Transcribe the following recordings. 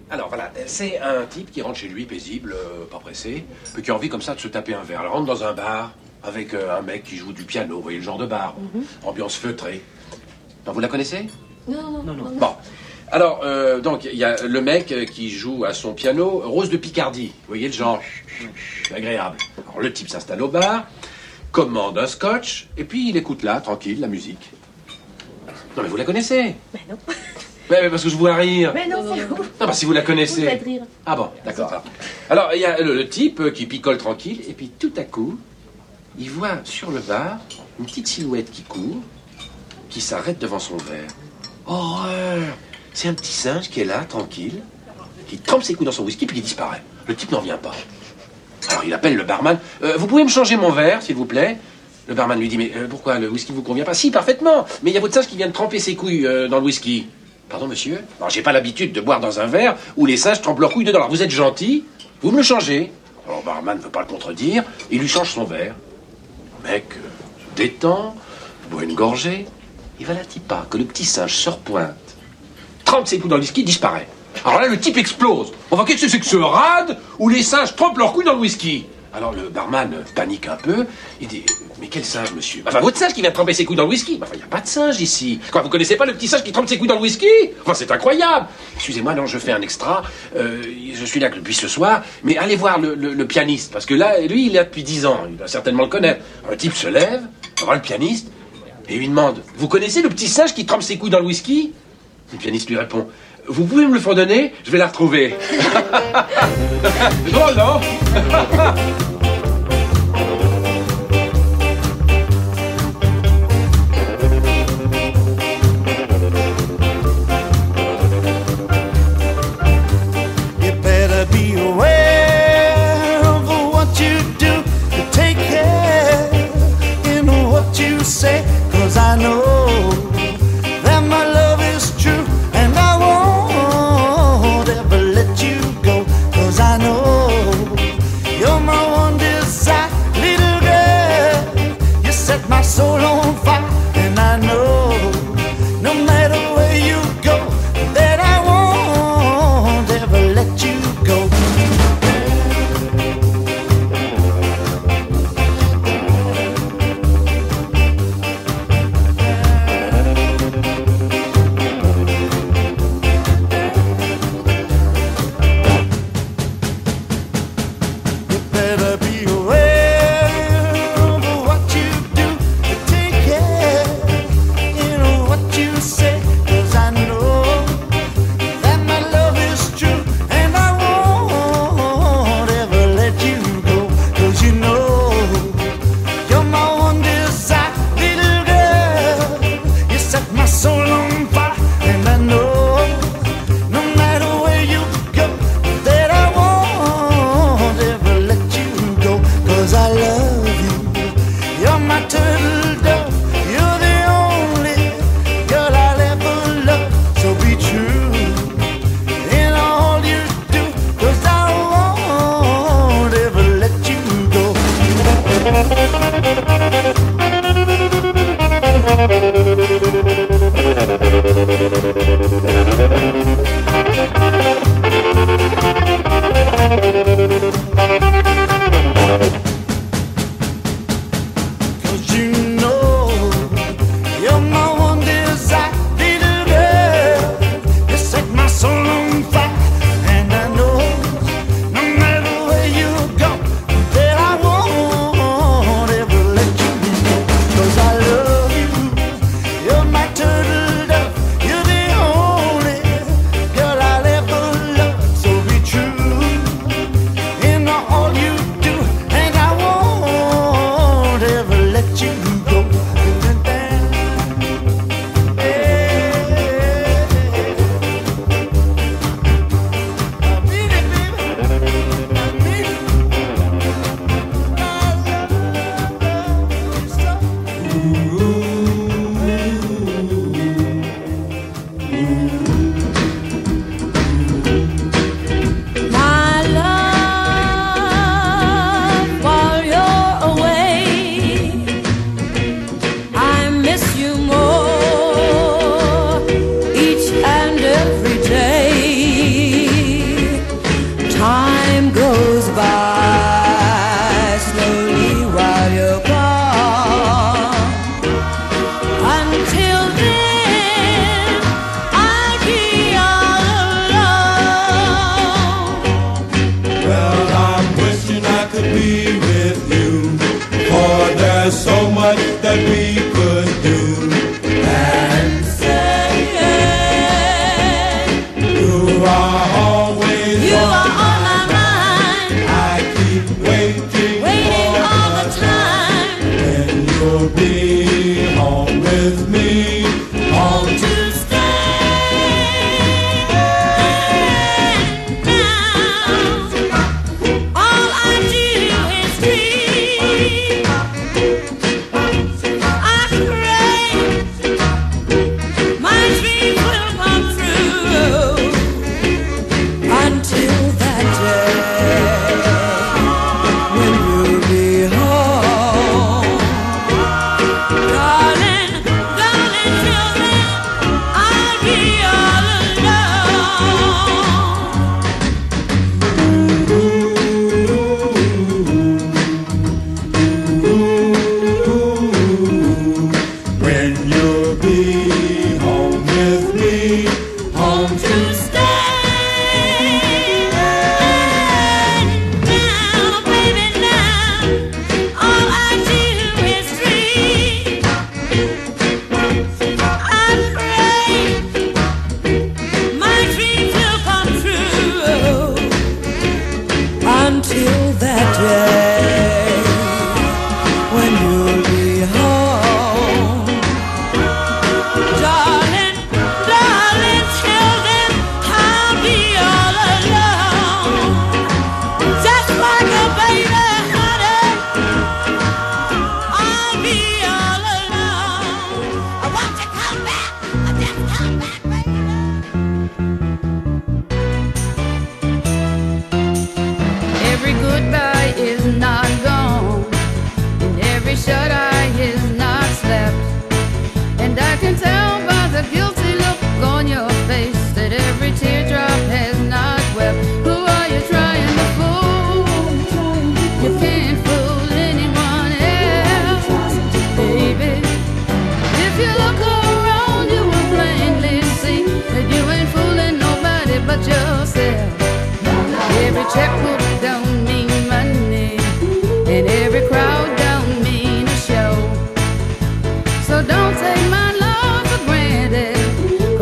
Alors voilà, c'est un type qui rentre chez lui paisible, pas pressé, mais qui a envie comme ça de se taper un verre. Il rentre dans un bar avec un mec qui joue du piano, vous voyez le genre de bar, ambiance feutrée. Non, vous la connaissez? Non. Bon, alors donc il y a le mec qui joue à son piano, Rose de Picardie, vous voyez le genre, agréable. Alors le type s'installe au bar, commande un scotch, et puis il écoute là, tranquille, la musique. Non mais vous la connaissez? Ben non. Mais parce que je vois rire. Mais non, c'est vous. Non, bah si vous la connaissez. Vous faites rire. Ah bon, d'accord. Alors, il y a le type qui picole tranquille, et puis tout à coup, il voit sur le bar une petite silhouette qui court, qui s'arrête devant son verre. Horreur! C'est un petit singe qui est là, tranquille, qui trempe ses coups dans son whisky, puis qui disparaît. Le type n'en vient pas. Alors, il appelle le barman. Vous pouvez me changer mon verre, s'il vous plaît? Le barman lui dit, mais pourquoi, le whisky vous convient pas? Si, parfaitement, mais il y a votre singe qui vient de tremper ses couilles dans le whisky. Pardon, monsieur? Alors, j'ai pas l'habitude de boire dans un verre où les singes trempent leurs couilles dedans. Alors, vous êtes gentil, vous me le changez. Alors, le barman ne veut pas le contredire, il lui change son verre. Le mec se détend, boit une gorgée, et voilà-t-il pas que le petit singe se repointe, trempe ses couilles dans le whisky, disparaît. Alors là, le type explose. Enfin, qu'est-ce que c'est que ce rade où les singes trempent leurs couilles dans le whisky? Alors, le barman panique un peu, il dit... Mais quel singe, monsieur? Enfin, votre singe qui vient tremper ses couilles dans le whisky. Enfin, il n'y a pas de singe ici. Quoi, vous connaissez pas le petit singe qui trempe ses couilles dans le whisky? Enfin, c'est incroyable. Excusez-moi, non, je fais un extra. Je suis là depuis ce soir. Mais allez voir le pianiste. Parce que là, lui, il est là depuis 10 ans. Il doit certainement le connaître. Un type se lève, voir le pianiste, et lui demande, vous connaissez le petit singe qui trempe ses couilles dans le whisky? Le pianiste lui répond, vous pouvez me le fredonner? Je vais la retrouver. Drôle, non? Cause I know that my love is true, and I won't ever let you go. Cause I know you're my one desire, little girl. You set my soul on fire, and I know no matter where you go, that I won't ever let you go.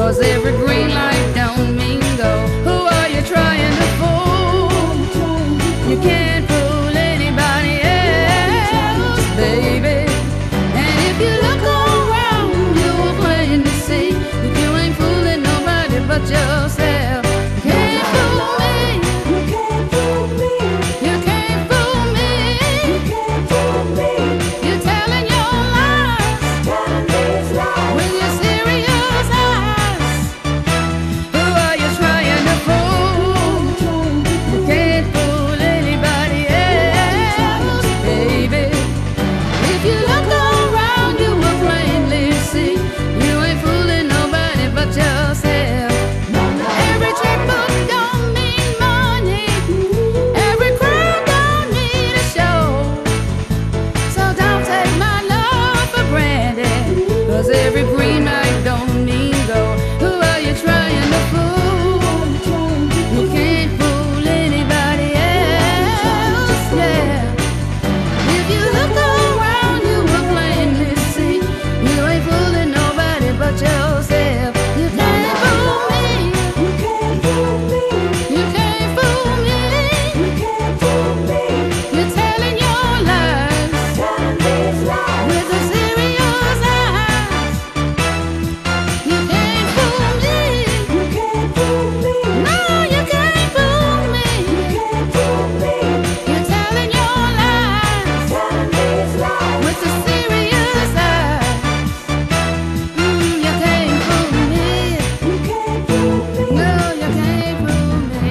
'cause every green light don't mean go. Who are you trying to fool? You can't fool anybody else, baby. And if you look around, you will plain to see that you ain't fooling nobody but yourself. Can't fool me. You can't fool me. You can't fool me. You can't fool me. You're telling your lies. Telling these lies. With your serious eyes. Who are you trying to fool? You can't fool anybody else, baby. If you look around, you will plainly see you ain't fooling nobody but yourself. Every checkbook don't mean money. Every crowd don't need a show. So don't take my love for granted, 'cause every green light don't mean go. Who are you trying to fool? You can't fool anybody else, yeah. If you look around, you will plainly see you ain't fooling nobody but yourself. You can't fool me. You can't fool me. You can't fool me. You can't fool me. You're telling your lies. Telling these lies. With a serious eyes. You can't fool me. You can't fool me. No, you can't fool me. You can't fool me. You're telling your lies. Telling these lies. With a serious eyes. You can't fool me. You can't fool me. No, you can't fool me.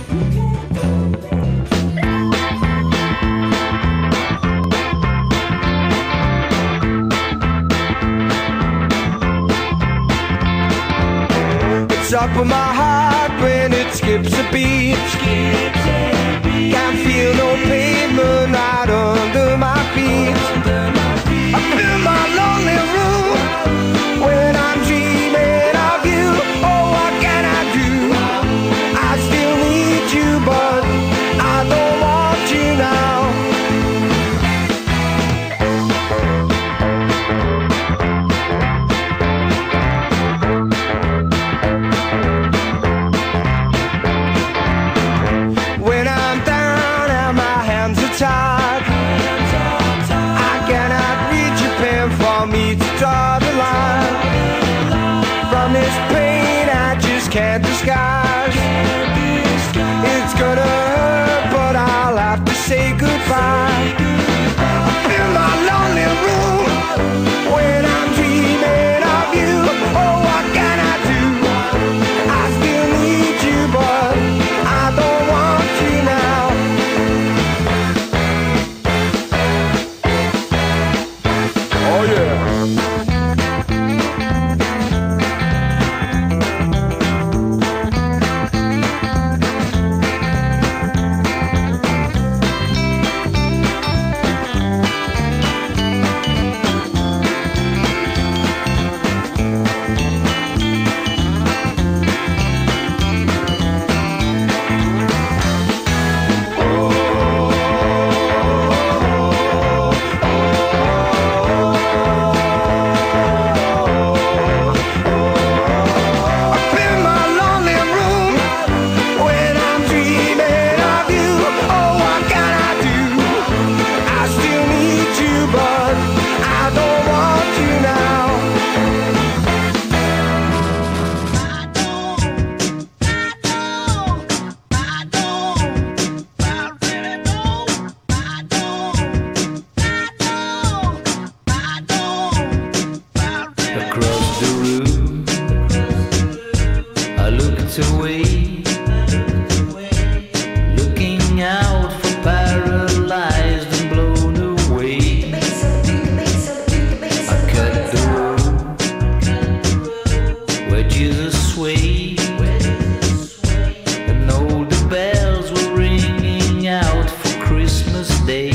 It's up in my heart when it skips a beat. Can't feel no pavement right under my feet. Up in my lonely room when I'm dreaming of you. Oh, what can I do? I still need you, but I don't want you now. When I'm down and my hands are tied, I cannot reach a pen for me to draw the line. From this pain I just can't disguise. It's gonna hurt, but I'll have to say goodbye. In my lonely room when I'm dreaming of you. Oh, what can I do? I still need you, but I don't want you now. Oh yeah. Up in my lonely room when I'm dreaming of you. Oh, what can I do? I still need you, but I don't want you now. Across the room, I looked away, looking out for paralyzed and blown away. I cut the road where Jesus swayed, and all the bells were ringing out for Christmas Day.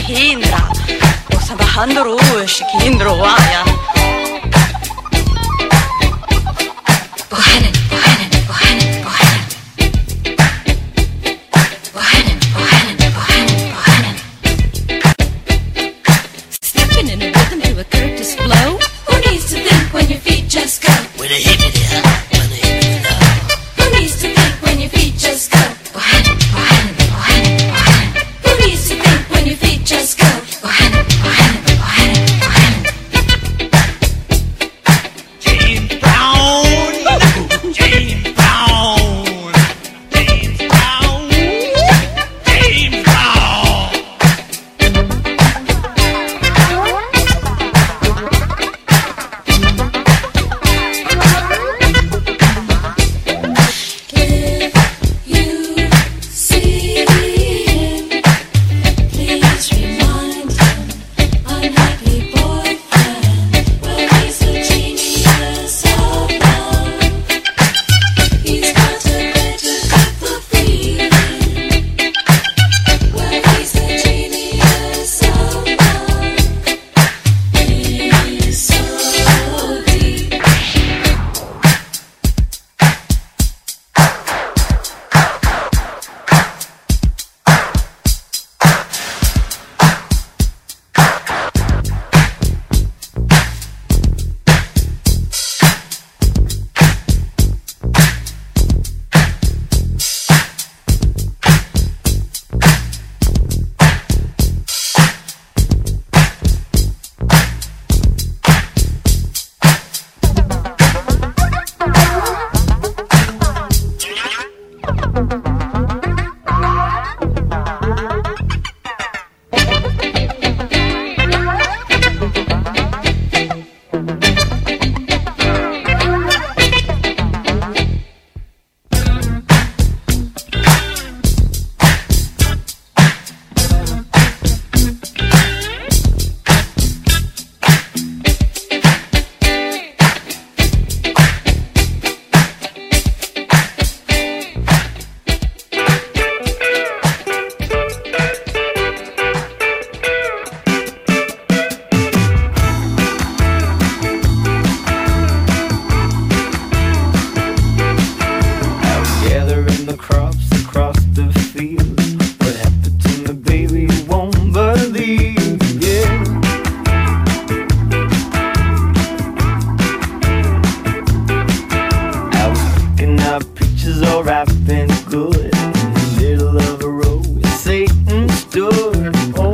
hindra. Och sen behandlar du sig hindra och ja. Stepping in a rhythm to a Curtis flow. Who needs to think when your feet just go? With a hippity hop, with a hippity hop. Who needs to think when your feet just go? Who Needs to think when your feet just go. James Brown, James Brown, James Brown, James Brown. If you see him, please remind him unhappy boyfriend. Well, he's a genius of love. He's got a way to get the feeling. Well, he's a genius of love. He's so deep. Gathering the crops across the field. What happened to me, baby, you won't believe, yeah. I was picking up peaches all ripe and good in the middle of a road where Satan stood. Oh,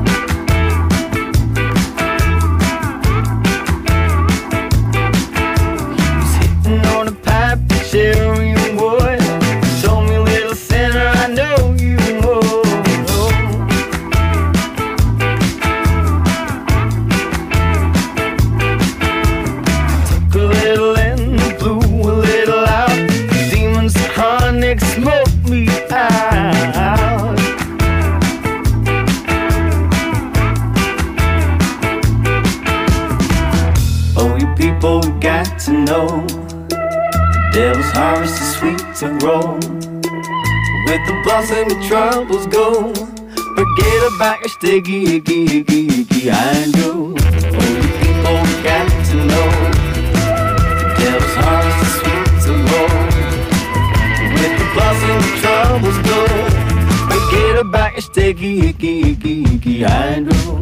he was hitting on a pipe, cherry and wood. Told me, little sinner, I know you would. Took a little in, blew a little out. Demons chronic smoked me out. Oh, you people got to know, devil's harvest is sweet to roll. With the blossom your troubles go. Forget about your sticky, icky, icky, icky, I know. Oh, you people got to know, devil's harvest is sweet to roll. With the blossom your troubles go. Forget about your sticky, icky, icky, icky, I know.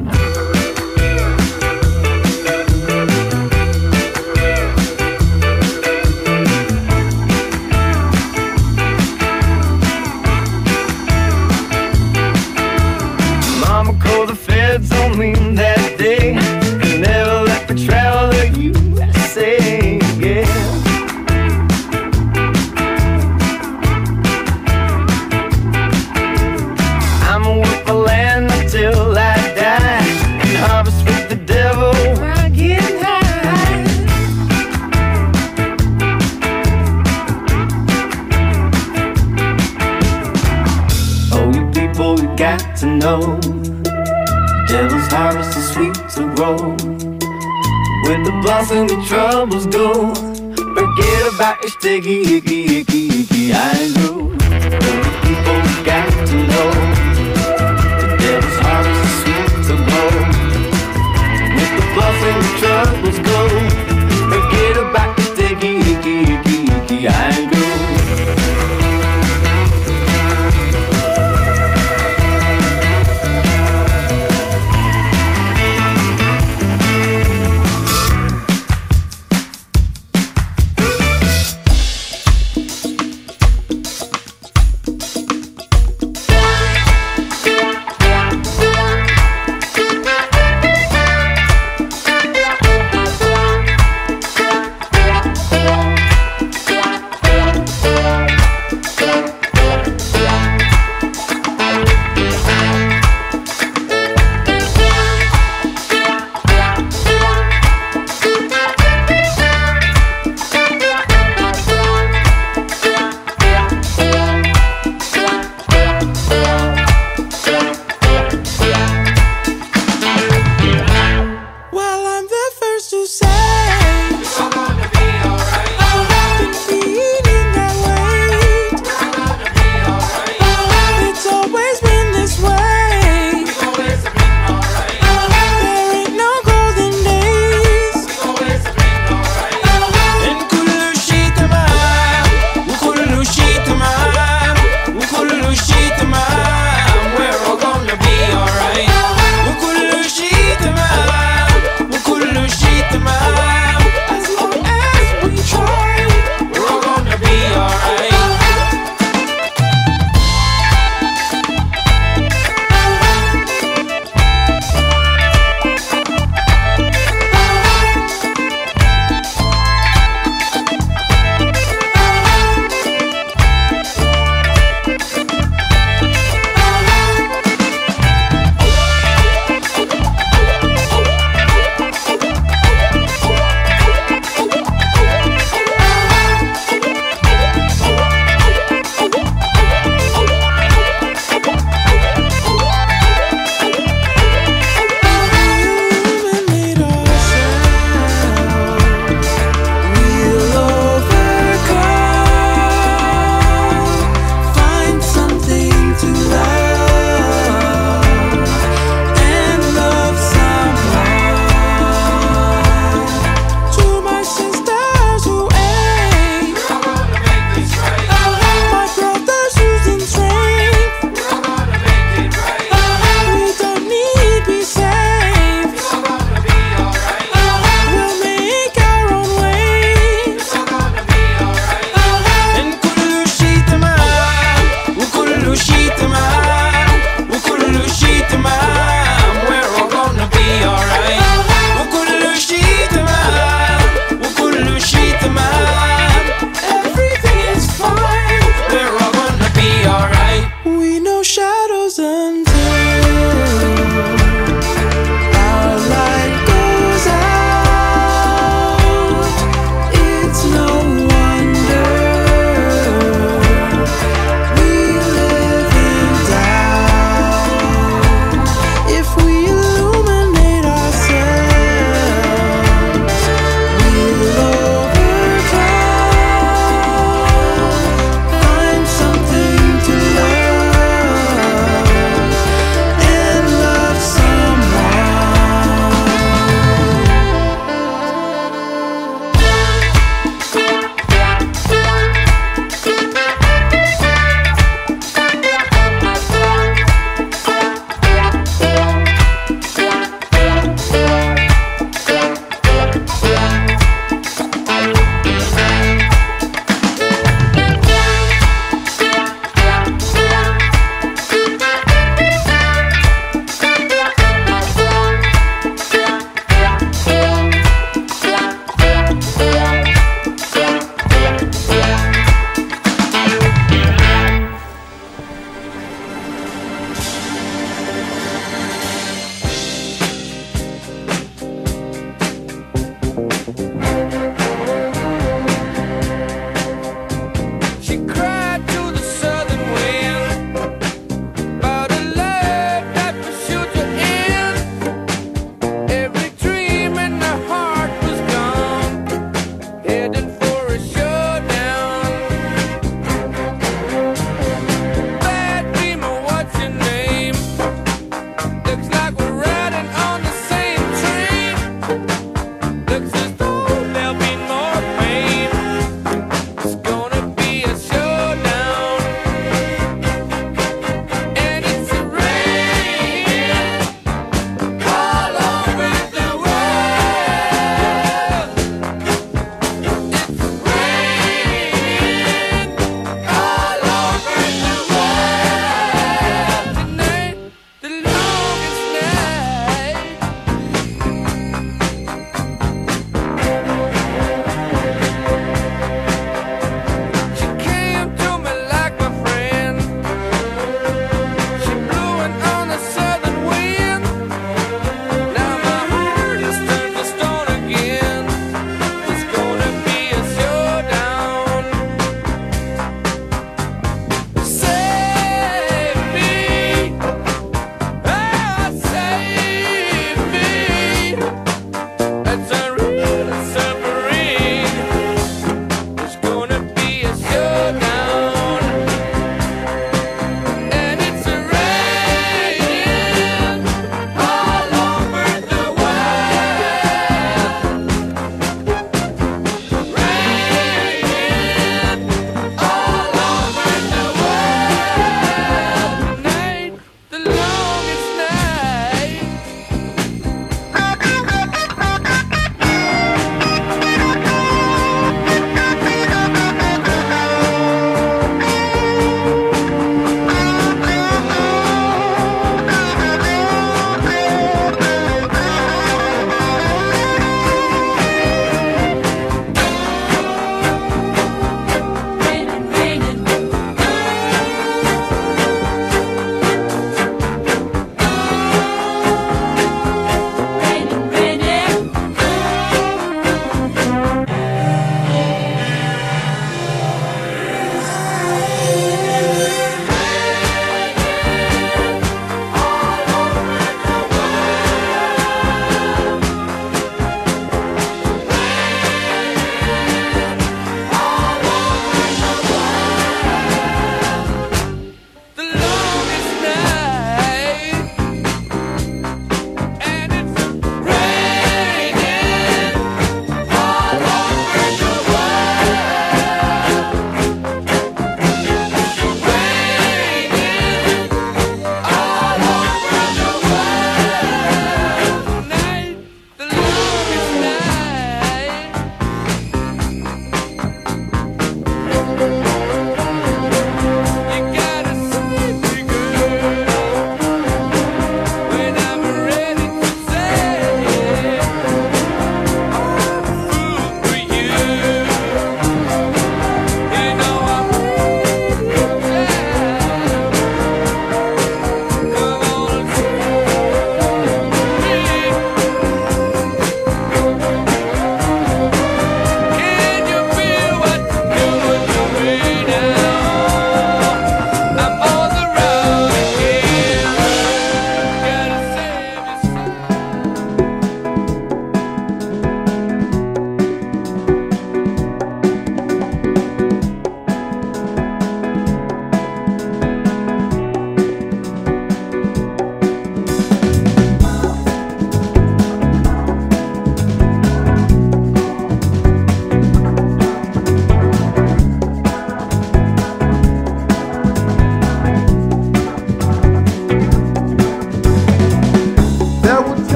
Mama called the feds on me that day. Never let me travel to USA again. I'ma work the land until I die, and harvest with the devil while getting high. Oh, you people, you got to know, devil's harvest is sweet to roll. With the blossom your troubles go. Forget about your sticky, icky, icky, icky, I know. Oh, you people got to know, the devil's harvest is sweet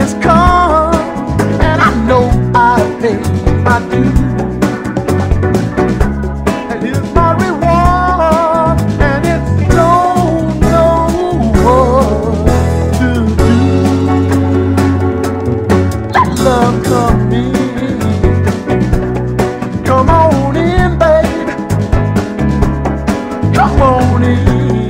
has come, and I know I've paid my due. And here's my reward, and it's don't know what to do. Let love come in. Come on in, baby. Come on in.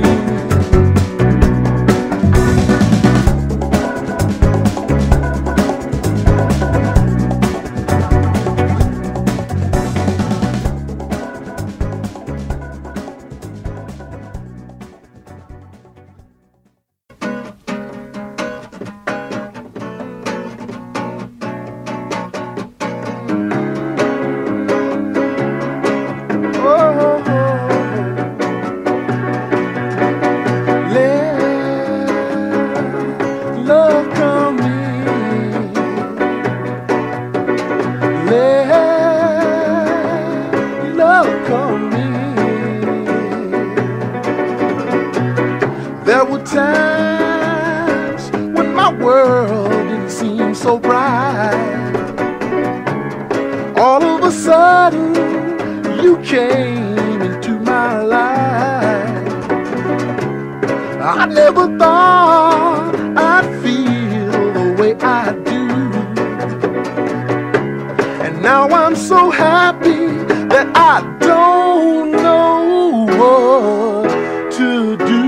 There were times when my world didn't seem so bright. All of a sudden, you came into my life. I never thought I'd feel the way I do. And now I'm so happy that I don't know what to do.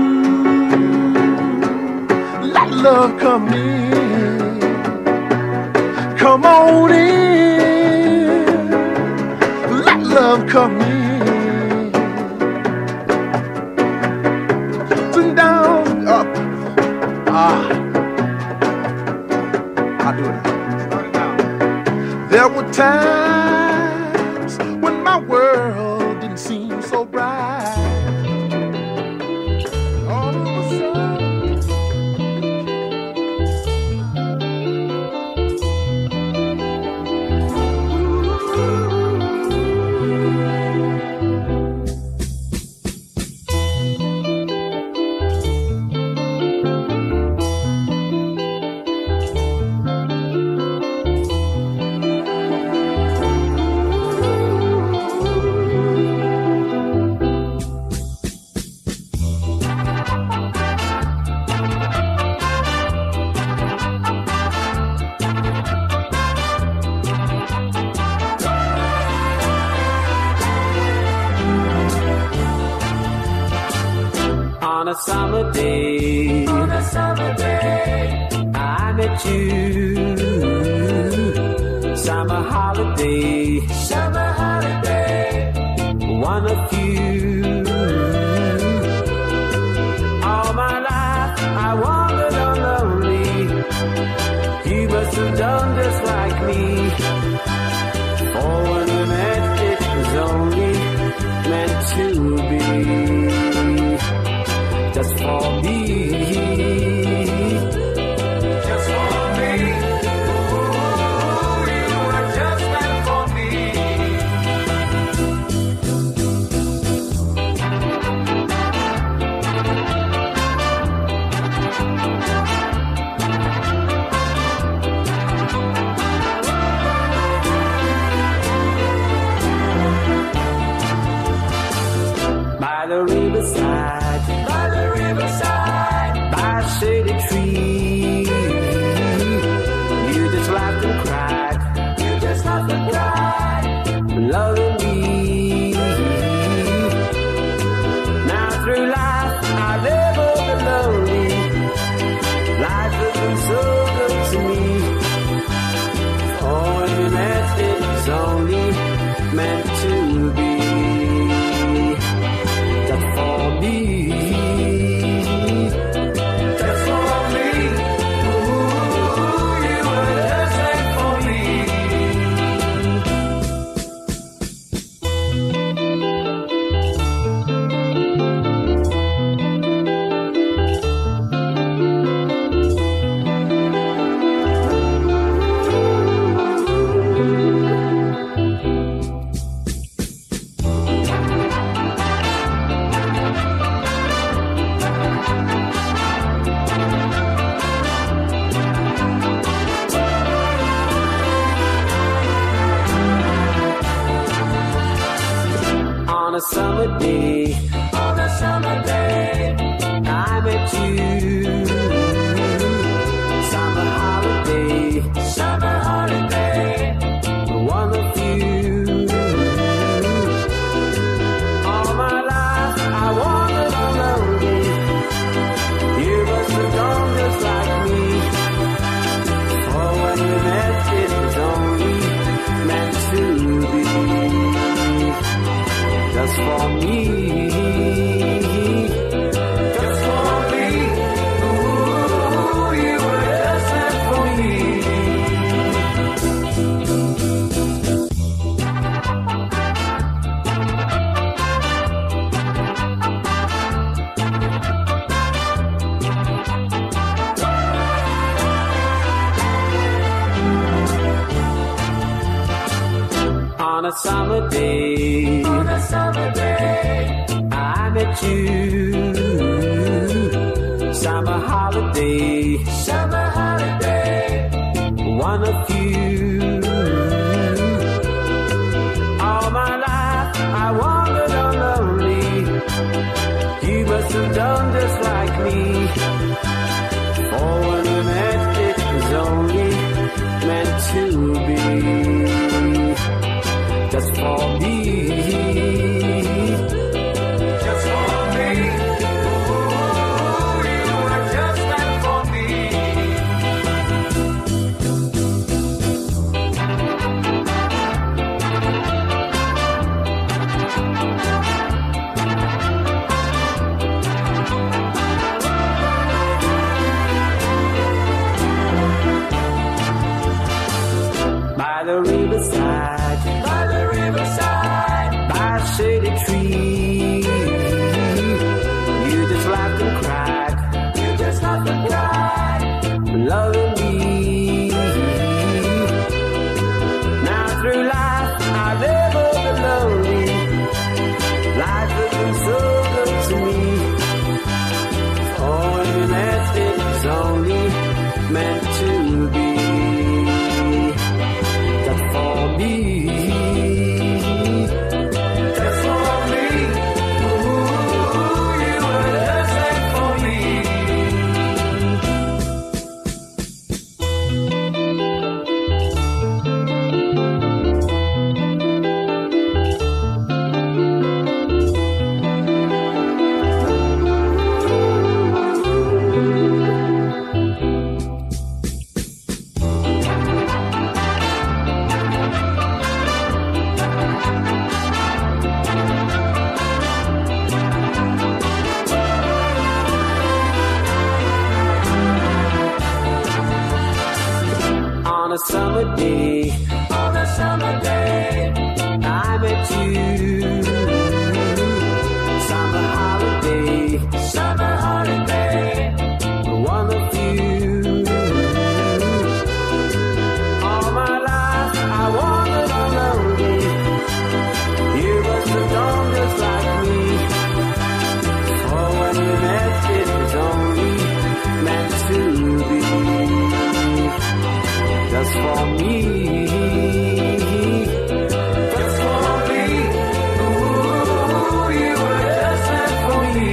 Let love come in. Come on in. Let love come in. Turn down, up. I'll do it. There were times when my world didn't seem so bright. All of a sudden, on a summer day, I met you. Summer holiday, one of you. All my life I wandered on lonely. You must have done just like me. For when we met, it was only meant to be. Just for me, just for me. Ooh, you were just meant for me. summer day, on a summer day, I met you. Summer holiday, summer holiday, one of you. All my life I wandered on lonely. You must have gone just like me. For when we met, it was only meant to be. Just for me, just for me. Ooh, you were just meant for me. On a summer day, on a summer day, I met you. Summer holiday, summer holiday, one of you. All my life I wandered on lonely. You must have done just like me. For when we met, it was only meant to be. Just for me, just for me. Ooh, you were just meant for me. By the riverside, by the riverside, by a shady tree, you just laughed and cried, you just laughed and cried, loving me. Now through life I've ever been lonely. Life has been so good to me. Oh, when we met, it was only meant to be. Just for me, just for me. Ooh, you were just meant for me. On a summer day, on a summer day, I met you. Summer holiday, summer holiday, one of you. All my life I wandered on lonely. You must have gone just like me. For when we met, it was only meant to be. Just for me, just for me. Ooh, you were just meant for me.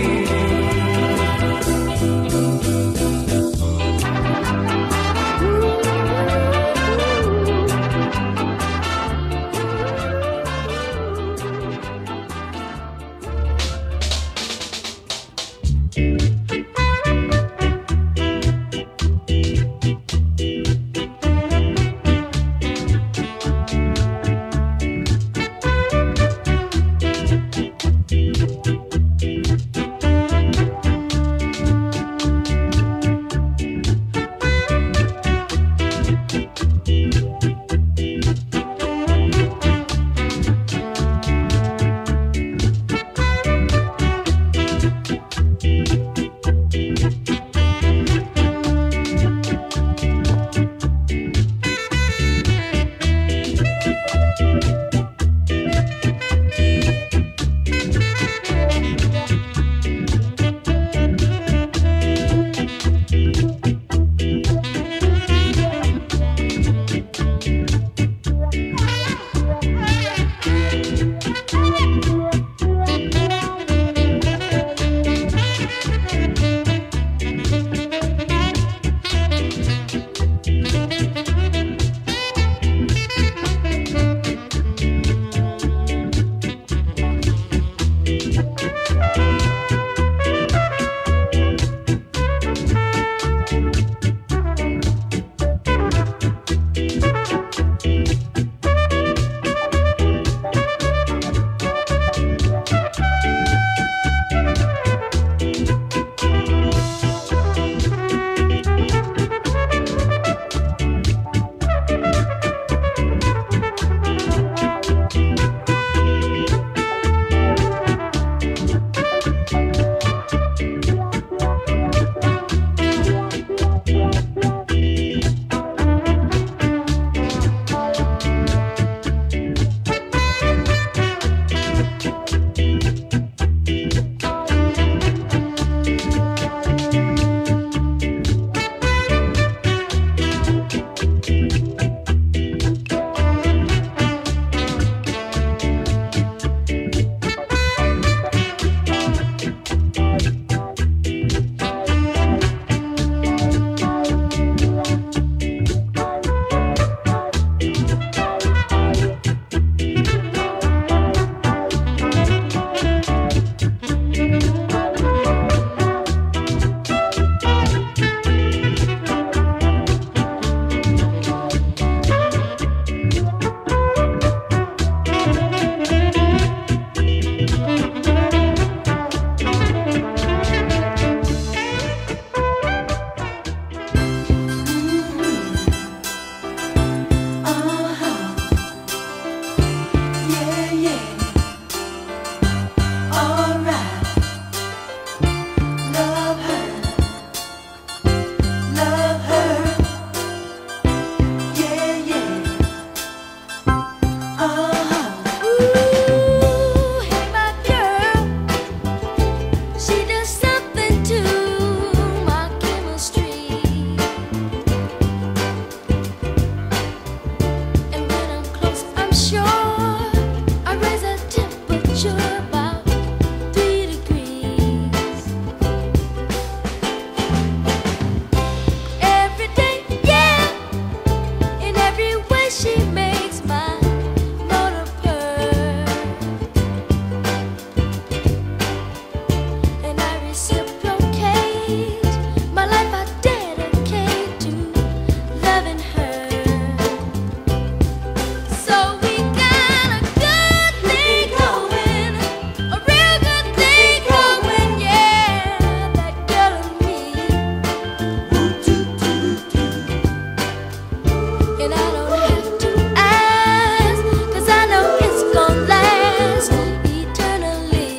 And I don't have to ask, 'cause I know it's gonna last eternally.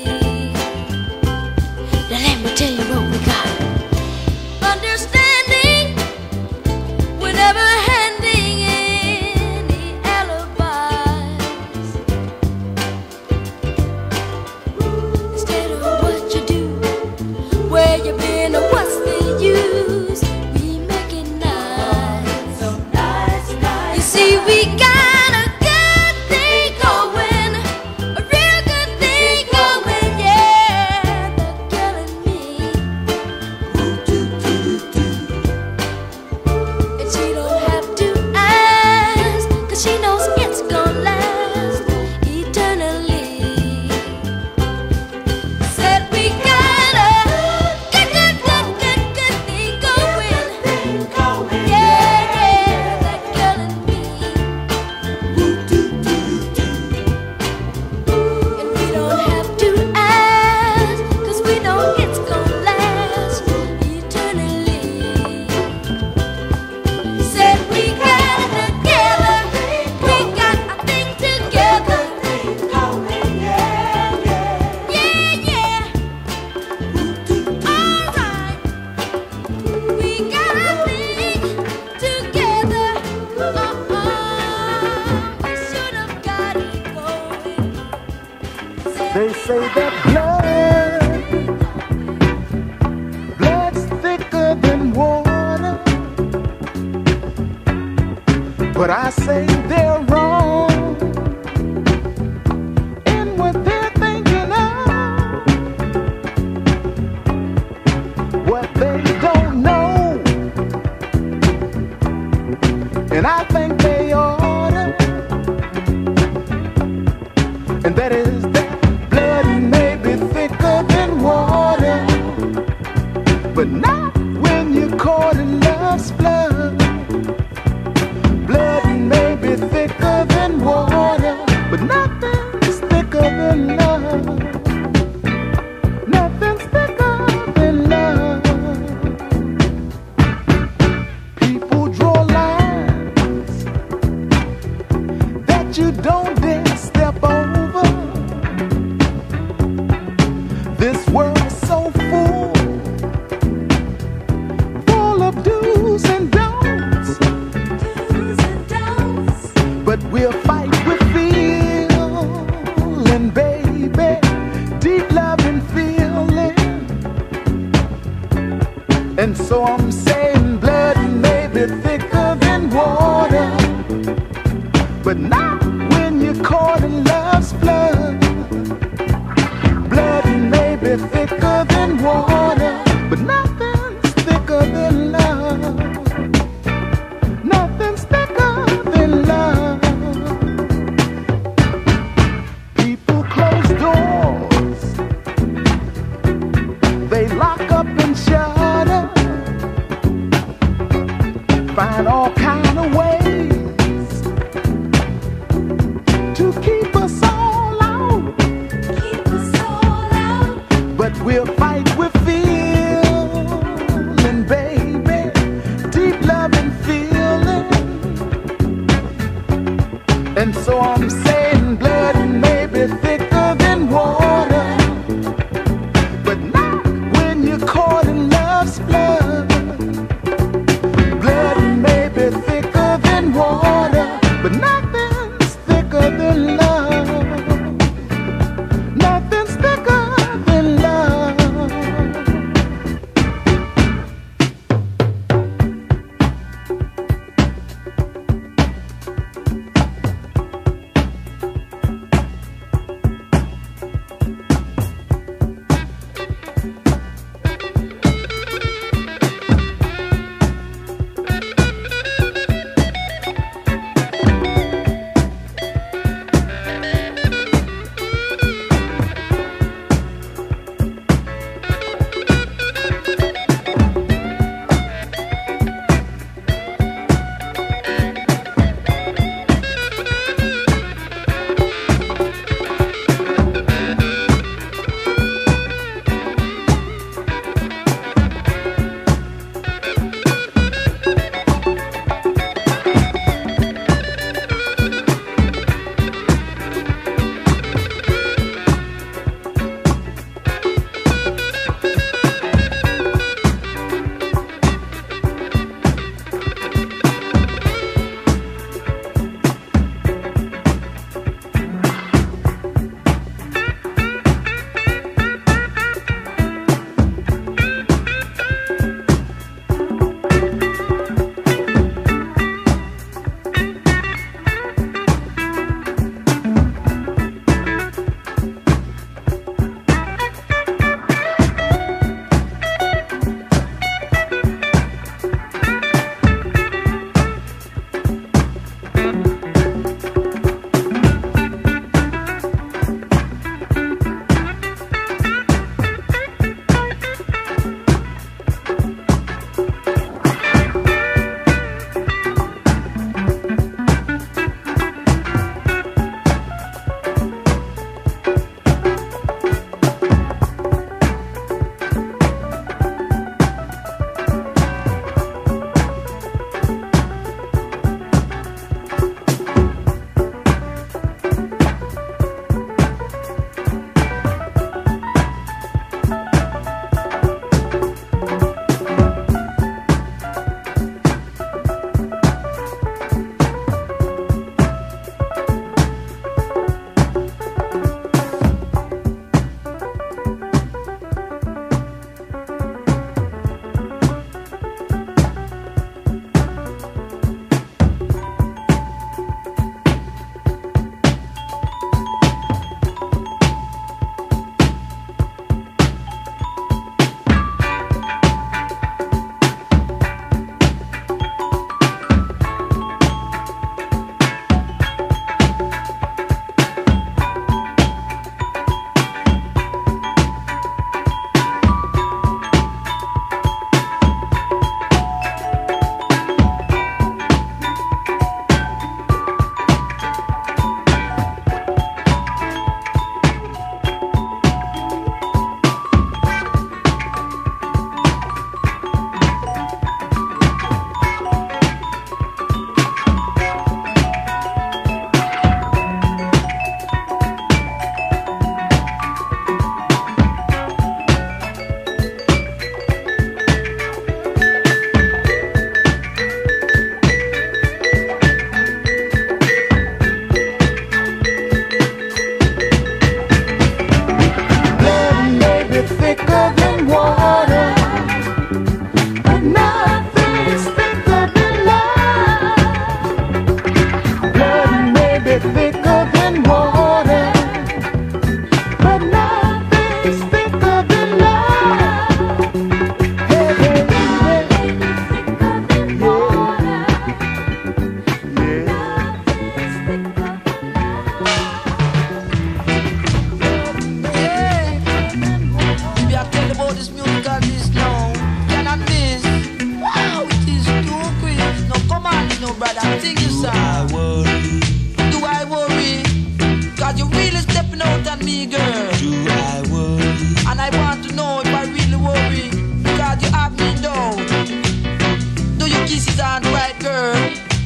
Now let me tell you what we got. Understanding, we're never handing any alibis. Instead of what you do, where you been, or what's the use, we make it nice. So nice, nice. You see, we got a good thing going, a real good thing going, yeah. They're killing me. And she don't have to ask, 'cause she knows it's gonna last eternally. Said we got a good thing going. Yeah, yeah, they're killing me. And we don't have to ask, 'cause we know it's gonna last eternally. Said we got it together, we got a thing together. Yeah, yeah. Alright, we got a thing together. We should have got it going. They say that blood's thicker than water. But I say they're wrong in what they're thinking of. What they don't know, and I think they oughta. And that is that blood may be thicker than water, but not when you're caught in love's flood. Blood may be thicker than water, but nothing's thicker than love. Nothing's thicker than love. People draw lines that you don't dare step over. This world's so full of do's and don'ts. But we'll fight with feeling, baby, deep love and feeling. And so I'm saying blood may be thicker than water, but not when you're caught in love's flood. Blood may be thicker than water, but nothing's thicker than love. Nothing's thicker than love. People close doors, they lock up and shutter, find all kind of ways to keep us all out. But we'll fight with feeling, baby, deep love and feeling. And so I'm saying blood may be thicker than water, but not when you're caught in love's blood. Blood may be thicker than water, but nothing's thicker than love. Nothing's thicker than love.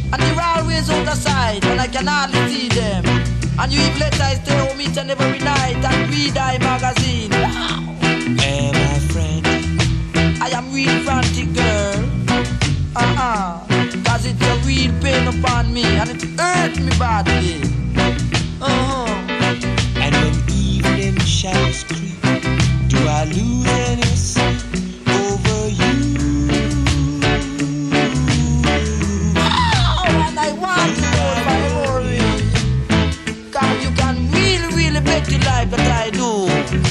And they're always out of sight, and I can hardly see them. And you even let I stay home each and every night and read I magazine. Wow. Hey, my friend, I am real frantic, girl. Cause it's a real pain upon me, and it hurt me badly. And when evening shadows creep, do I lose any sleep over you? Oh, and I want to know my worry. Cause you can really, really make the life that I do.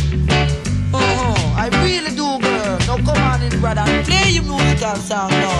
I really do, girl. Now come on in, brother, play your musical song now.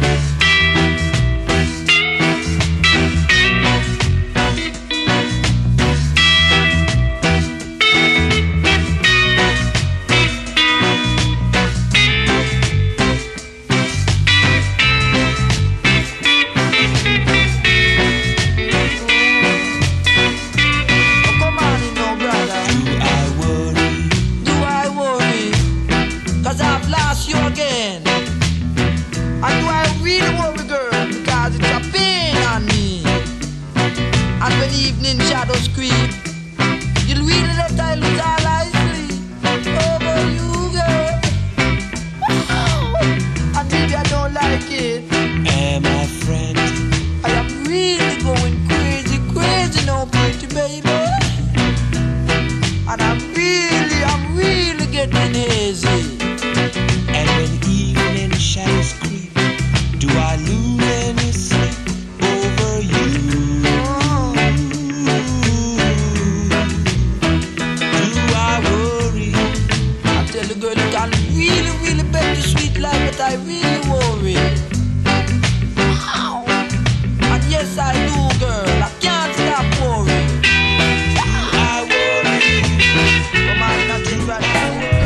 Shadows creep. You'll really let I lose all I sleep over you, girl. Wow. And maybe I don't like it. Hey, my friend, I am really going crazy, crazy now, pretty baby. And I'm really getting hazy. and when evening shadows creep, do I lose any sleep over you? Really bet the sweet life, but I really worry. Wow. And yes, I do, girl. I can't stop worrying. I worry. Come on, nothing right now.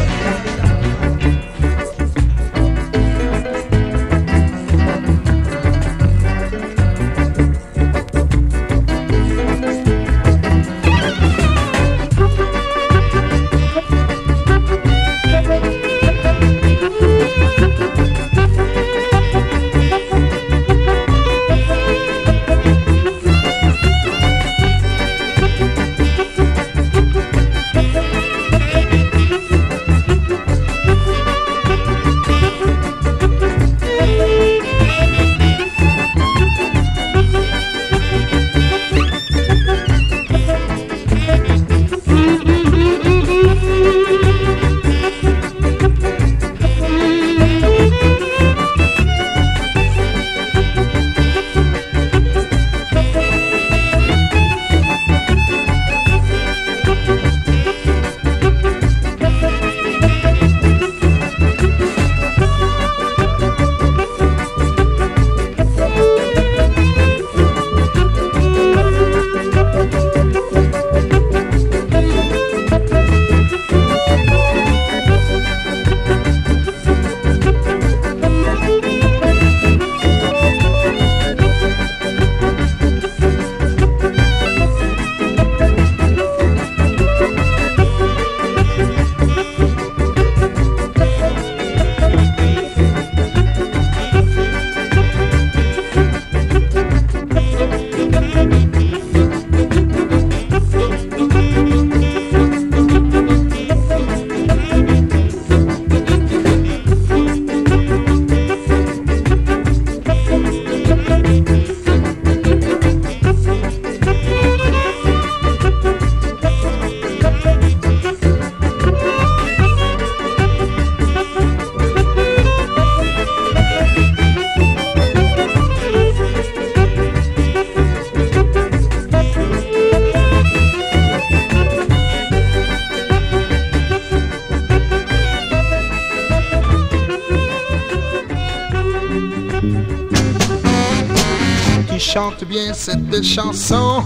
Chante bien cette chanson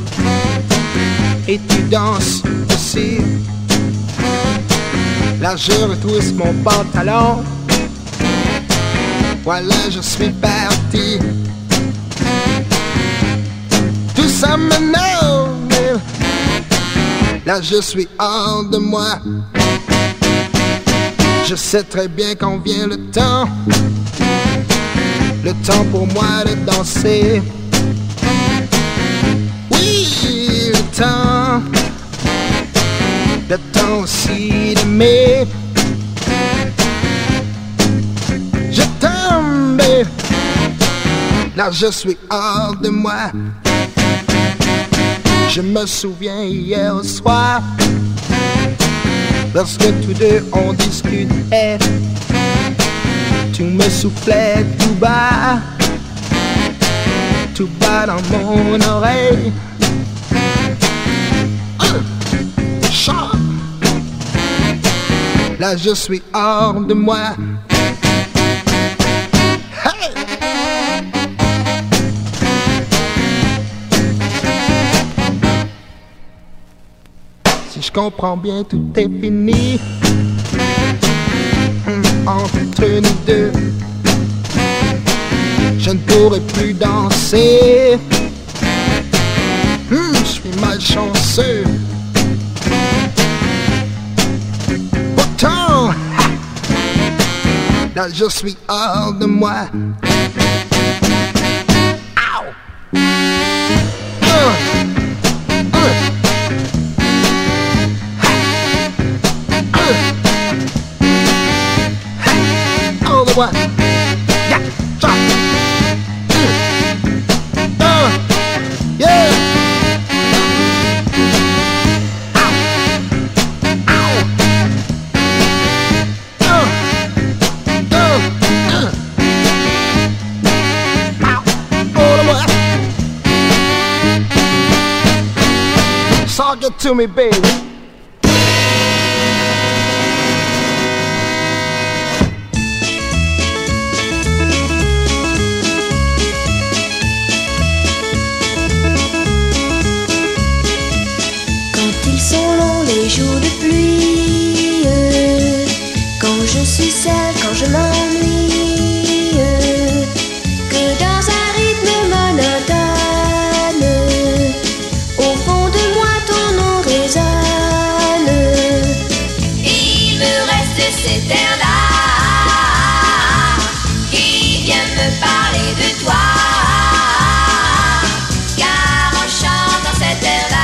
et tu danses aussi. Là je retrousse mon pantalon, voilà je suis parti. Tout ça maintenant, là je suis hors de moi. Je sais très bien quand vient le temps le temps pour moi de danser. Oui, le temps aussi d'aimer. Je t'aime, babe. Là je suis hors de moi. Je me souviens hier au soir, lorsque tous deux on discutait, tu me soufflais tout bas dans mon oreille. Chant. Là je suis hors de moi. Hey! Si je comprends bien, tout est fini entre nous deux. Je ne pourrai plus danser. Je suis malchanceux. Pourtant, là je suis hors de moi. All the way. Yeah, drop. Yeah. Ow. Ow. All the way. Talk it to me, baby. Les jours de pluie, quand je suis seule, quand je m'ennuie, que dans un rythme monotone, au fond de moi ton nom résonne. Il me reste cet air-là qui vient me parler de toi, car en chantant cet air-là,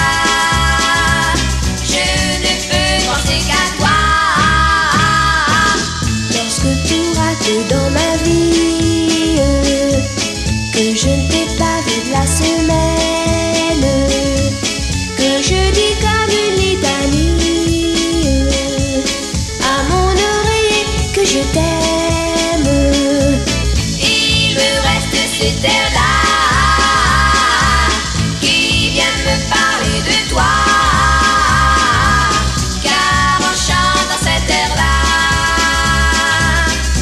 dans ma vie, que je ne t'ai pas vu de la semaine, que je dis comme une litanie à mon oreiller que je t'aime. Il me reste cet air-là qui vient me parler de toi, car en chantant cet air-là,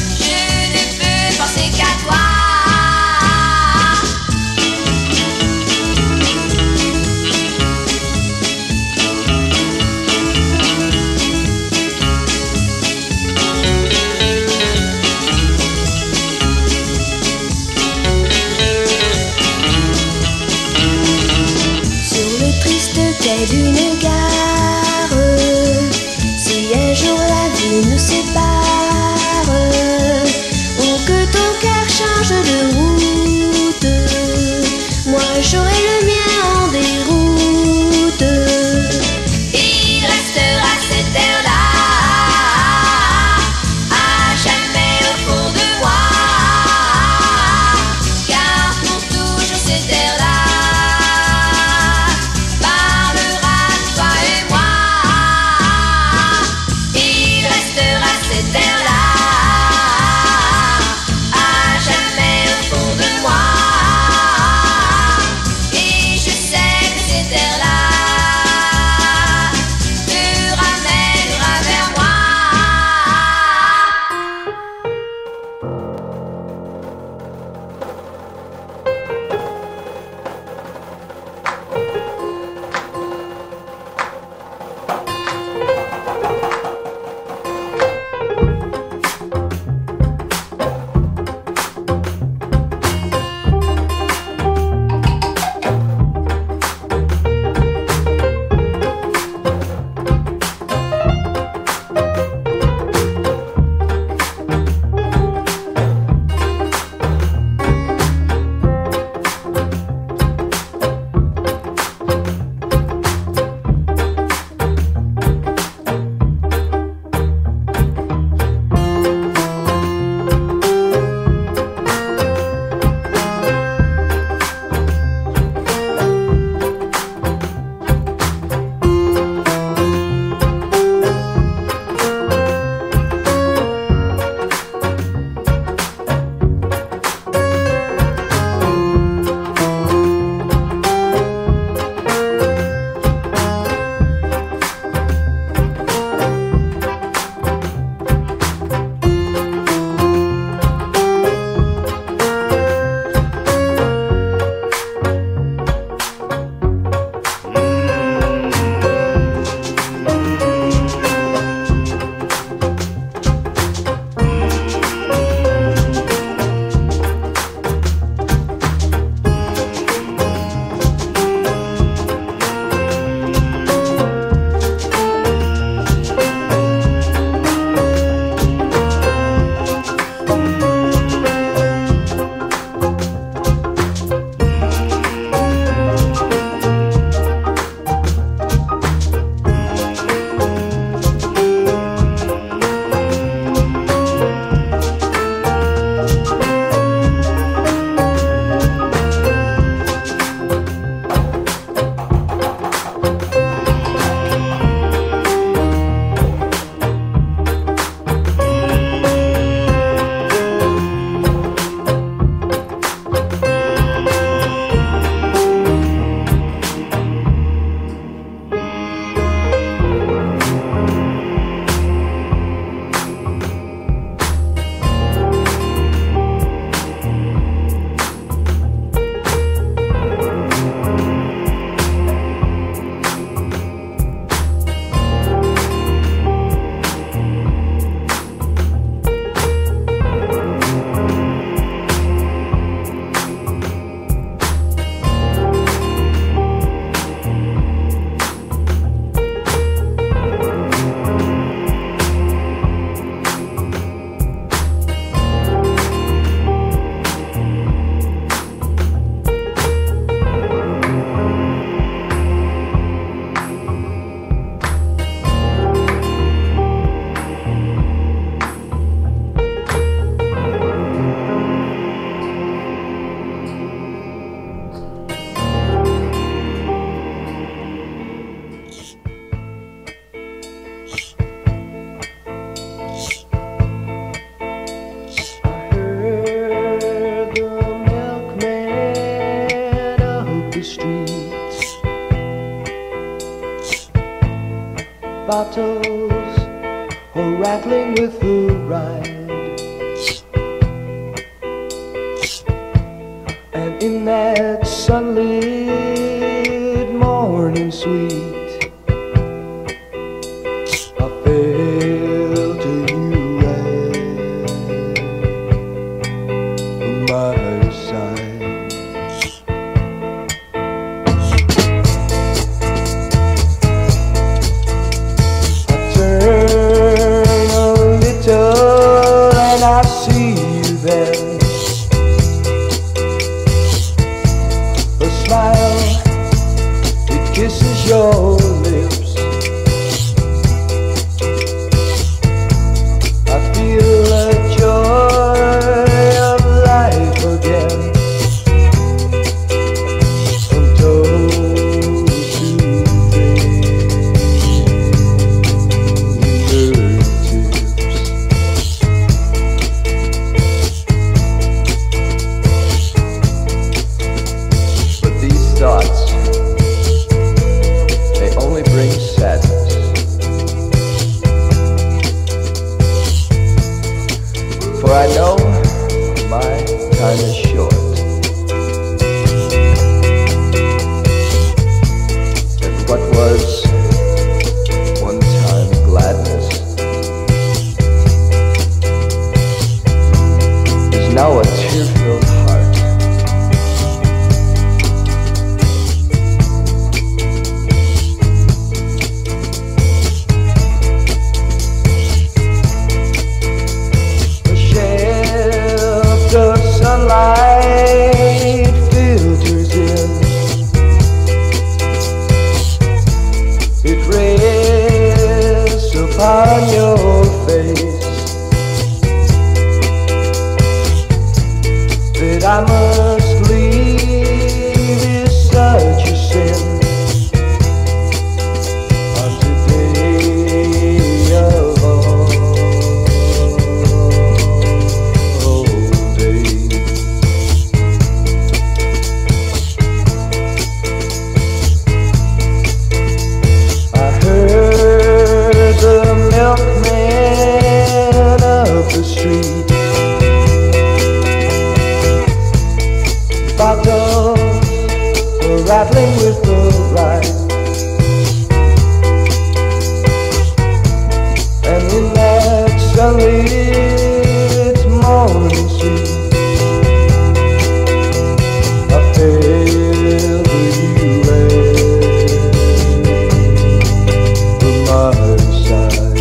qu'à toi. the streets. Bottles are rattling with the ride, and in that sunlit morning sweet, I fell to you at my side. I turn a little and I see you there. A smile, it kisses your lips. I feel the joy of life again, from toe to fingertips. But these thoughts, they only bring sadness. For I know my time is short, and what was one time gladness is now a tear-filled heart. A shaft of sunlight filters in. It rests upon your face. That I must leave is such a sin. On today of all days. I heard the milkman of the street. Bottles were rattling with the ride, and in that sunlit morning street, I fell to you at my side.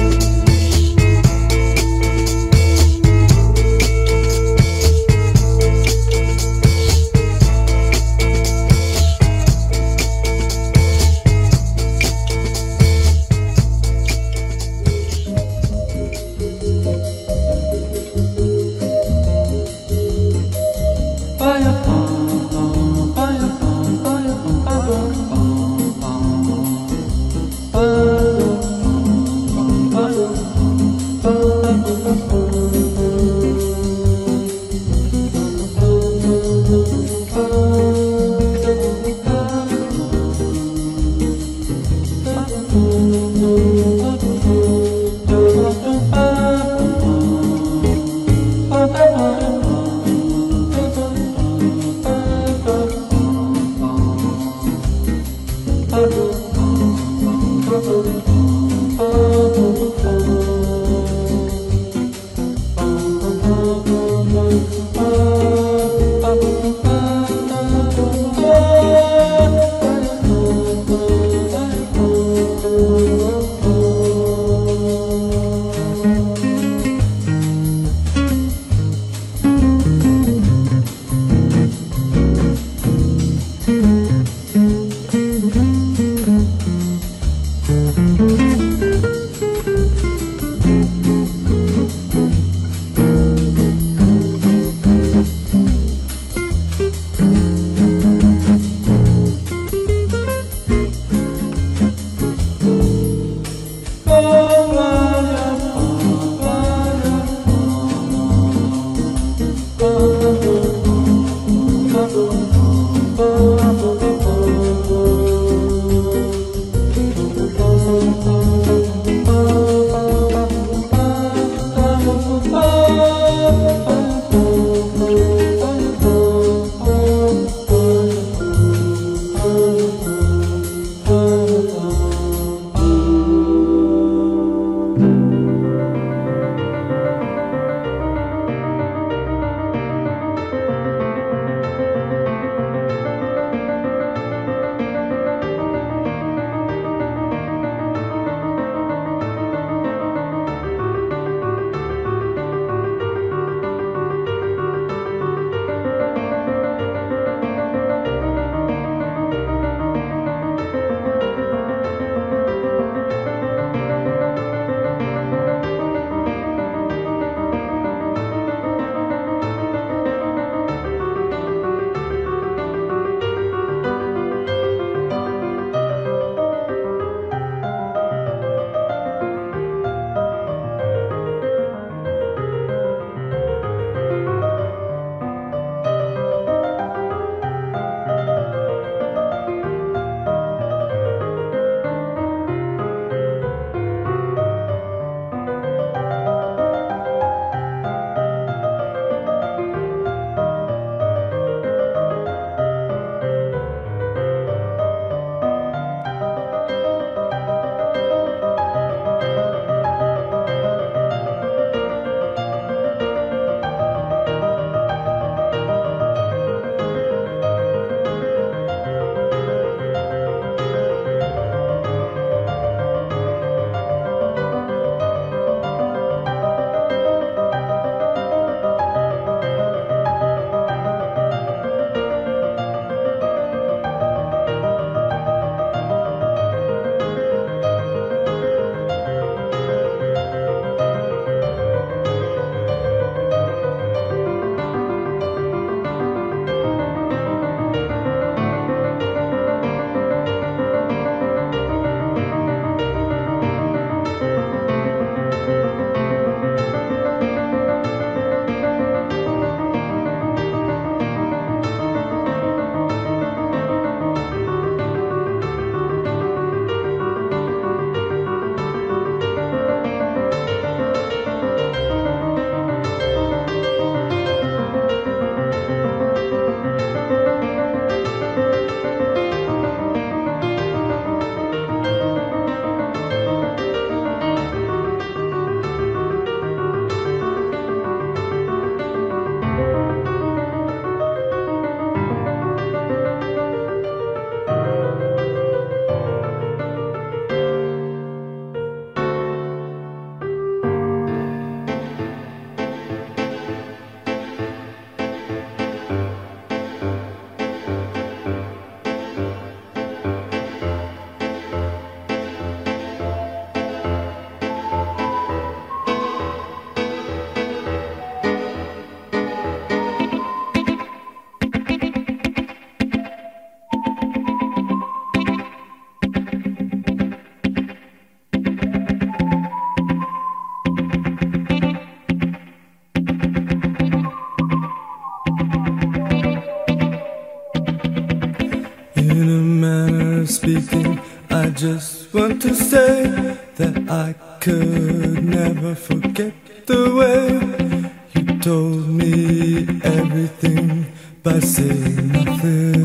In a manner of speaking, I just want to say that I could never forget the way you told me everything by saying nothing.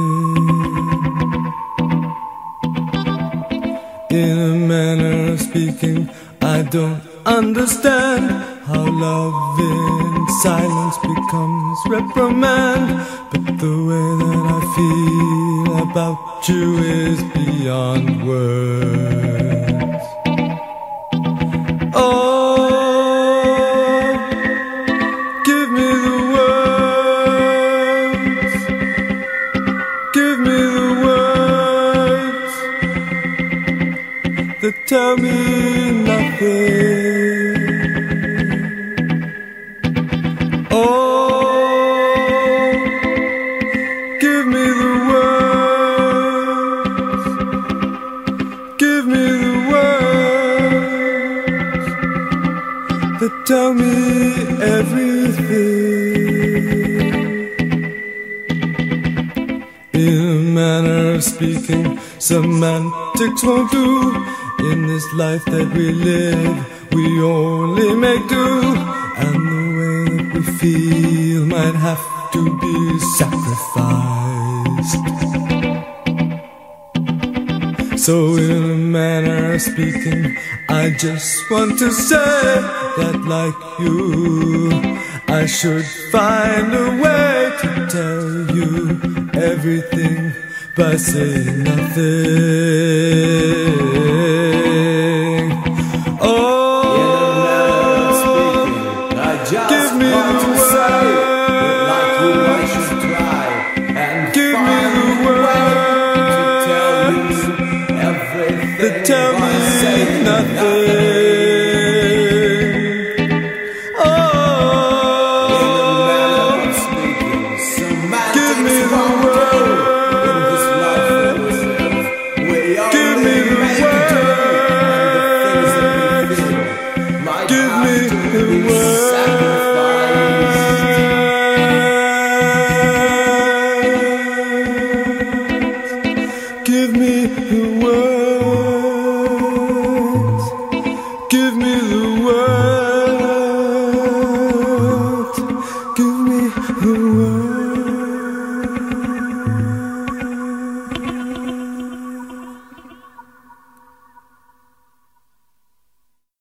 In a manner of speaking, I don't understand how love in silence becomes reprimand. But the way that I feel about you is beyond words. Oh, give me the words. Give me the words that tell me nothing. Tell me everything. In a manner of speaking, semantics won't do. In this life that we live, we only make do. And the way that we feel might have to be sacrificed. So in a manner of speaking, I just want to say that like you, I should find a way to tell you everything by saying nothing.